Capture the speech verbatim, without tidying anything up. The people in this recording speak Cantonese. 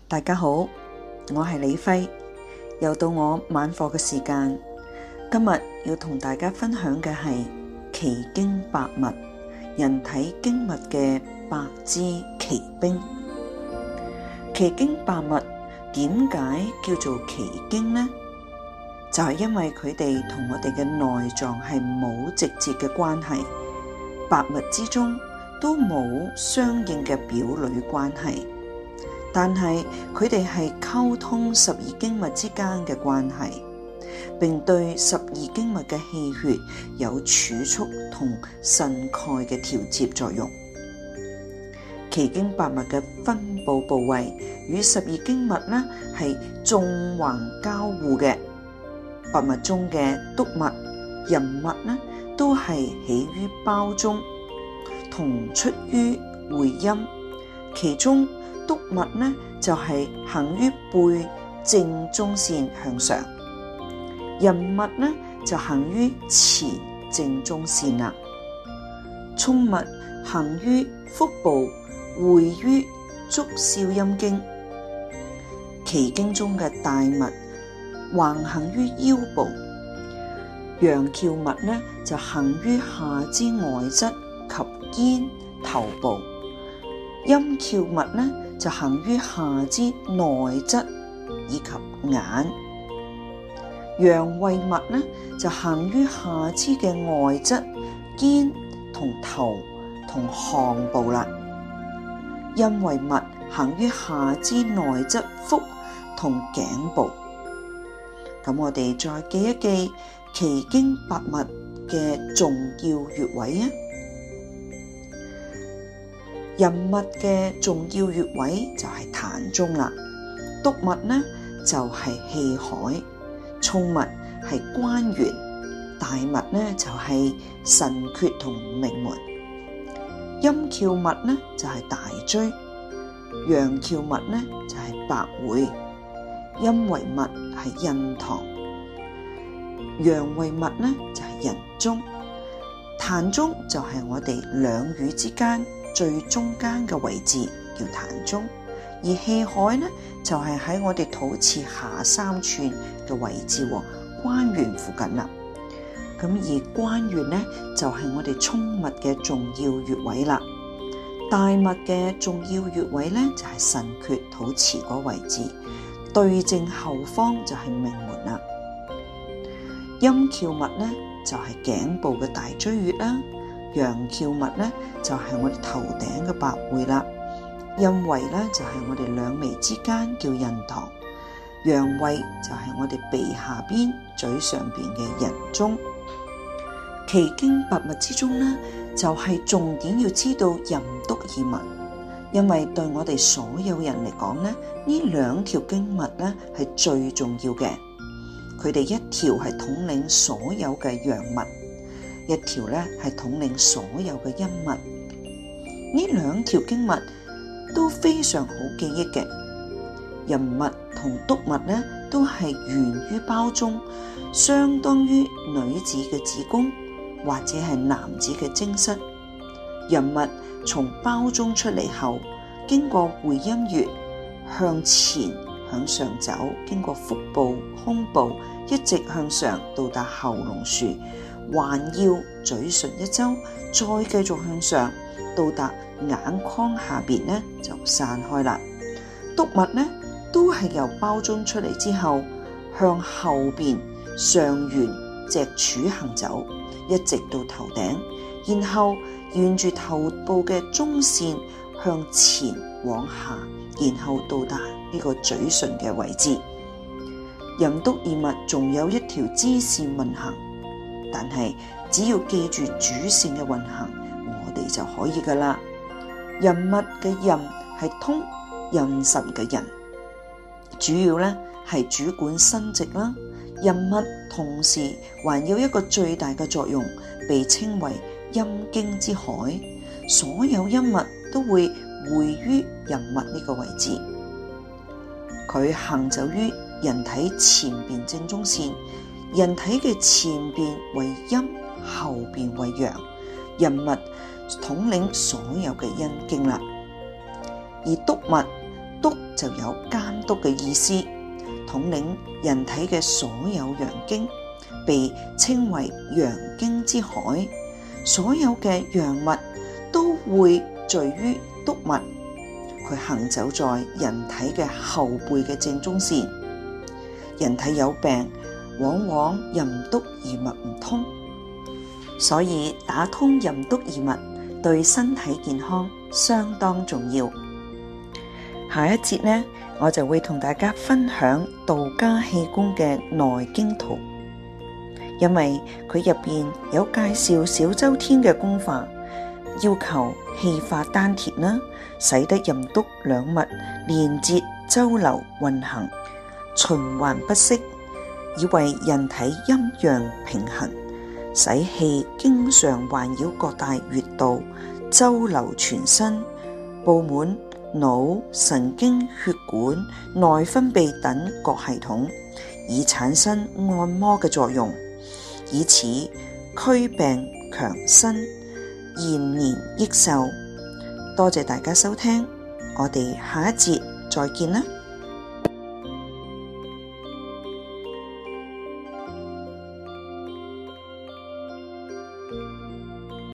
大家好，我係李輝，又到我晚課嘅時間。今日要同大家分享嘅係奇經八脈，人體經脈嘅八支奇兵。奇經八脈點解叫做奇經呢？就係因為佢哋同我哋嘅內臟係冇直接嘅關係，八脈之中都冇相應嘅表裏關係。但係佢哋係溝通十二經脈之間嘅關係，並對十二經脈嘅氣血有儲蓄同腎鈣嘅調節作用。奇經八脈嘅分佈部位與十二經脈呢係縱橫交互嘅。八脈中嘅督脈、任脈呢都係起於胞中，同出於會陰，其中督脈呢就係、是、行於背正中線向上，任脈呢就行於前正中線啦。衝脈行於腹部，會於足少陰經。奇經中嘅大脈橫行於腰部，陽蹻脈呢就行於下肢外側及肩頭部，陰蹻脈呢就行於下肢內側以及眼，陽胃脈呢就行於下肢嘅外側、肩同頭同項部啦。陰胃脈行於下肢內側腹同頸部。咁我哋再記一記奇經八脈嘅重要穴位啊！任脈嘅重要穴位就係膻中啦，督脈呢就係氣海，衝脈係關元，大脈呢就係神闕同命門，陰蹻脈呢就係大椎，陽蹻脈呢就係百會，陰維脈係印堂，陽維脈呢就係人中，膻中就係我哋兩乳之間最中間嘅位置叫膻中，而氣海呢就係、是、喺我哋肚臍下三寸嘅位置，關元附近啦。咁而關元呢就係、是、我哋衝脈嘅重要穴位啦。大脈嘅重要穴位呢就係、是、神闕肚臍嗰位置，對正後方就係命門啦。陰蹻脈呢就係、是、頸部嘅大椎穴啦。陽蹻脈咧就係、是、我哋頭頂嘅百會啦，陰維咧就係、是、我哋兩眉之間叫印堂，陽位就係、是、我哋鼻下邊嘴上邊嘅人中。奇經八脈之中呢，就係、是、重點要知道任督二脈，因為對我哋所有人嚟講呢，呢兩條經脈咧係最重要嘅，佢哋一條係統領所有嘅陽脈，一條咧係統領所有嘅陰脈，呢兩條經脈都非常好記憶嘅。任脈同督脈咧都係源於胞中，相當於女子嘅子宮或者係男子嘅精室。任脈從胞中出嚟後，經過會陰穴向前向上走，經過腹部、胸部，一直向上到達喉嚨樹。環繞嘴唇一周，再繼續向上到達眼眶下邊呢就散開啦。督脈呢都係由胞中出嚟之後，向後邊上沿脊柱行走，一直到頭頂，然後沿住頭部嘅中線向前往下，然後到達呢個嘴唇嘅位置。任督二脈仲有一條支線運行。但係只要記住主線嘅運行，我哋就可以噶啦。任脈嘅任係通任神嘅任，主要咧係主管生殖啦。任脈同時還有一個最大嘅作用，被稱為陰經之海，所有陰脈都會匯於任脈呢個位置。佢行走於人體前邊正中線。人體嘅前邊為陰，後邊為陽，任脈統領所有嘅陰經啦。而督脈督就有監督嘅意思，統領人體嘅所有陽經，被稱為陽經之海。所有嘅陽物都會聚於督脈，佢行走在人體嘅後背嘅正中線。人體有病，往往任督二脈唔通，所以打通任督二脈對身體健康相當重要。下一節呢，我就會同大家分享道家氣功嘅內經圖，因為佢入邊有介紹小周天嘅功法，要求氣化丹田啦，使得任督兩脈連接周流運行，循環不息，以為人體陰陽平衡，使氣經常環繞各大穴道，周流全身，布滿腦、神經、血管、內分泌等各系統，以產生按摩嘅作用，以此驅病強身、延年益壽。多謝大家收聽，我哋下一節再見啦。